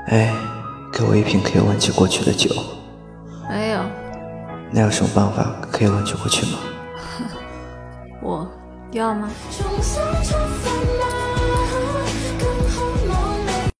哎，给我一瓶可以忘记过去的酒。 没有。 那有什么办法可以忘记过去吗？ 我要吗？